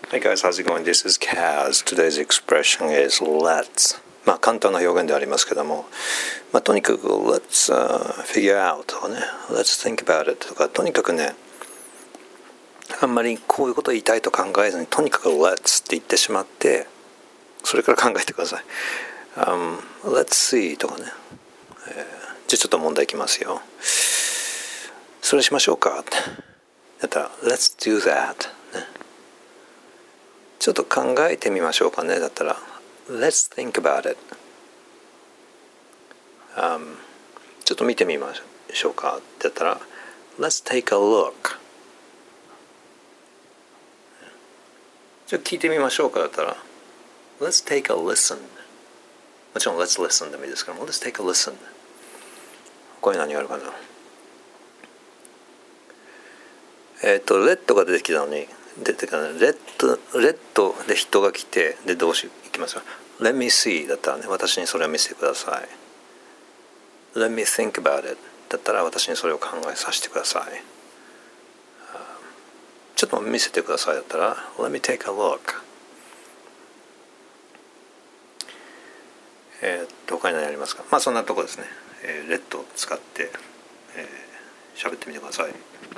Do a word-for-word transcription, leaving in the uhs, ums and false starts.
Hi guys, how's it going? This is Kaz. Today's expression is let's. まあ簡単な表現でありますけども、まあとにかく let's、uh, figure out とかね、let's think about it とか、とにかくね、あんまりこういうことを言いたいと考えずに、とにかく let's って言ってしまって、それから考えてください。Um, let's see とかね、えー、じゃあちょっと問題いきますよ。それしましょうかって。だったら let's do that、ね。ちょっと考えてみましょうかね。だったら let's think about it、um, ちょっと見てみましょうかって言ったら let's take a look。 ちょっと聞いてみましょうかだったら let's take a listen。 もちろん let's listen でもいいですけども let's take a listen。 これ何があるかな。えっ、ー、とレッドが出てきたのに出てかないレッドレッドで人が来てで動詞いきますよ。 Let me see だったらね、私にそれを見せてください。 Let me think about it だったら私にそれを考えさせてください。ちょっと見せてくださいだったら Let me take a look。 えっと他に何ありますか。まあそんなとこですね。えー、レッドを使って喋、えー、ってみてください。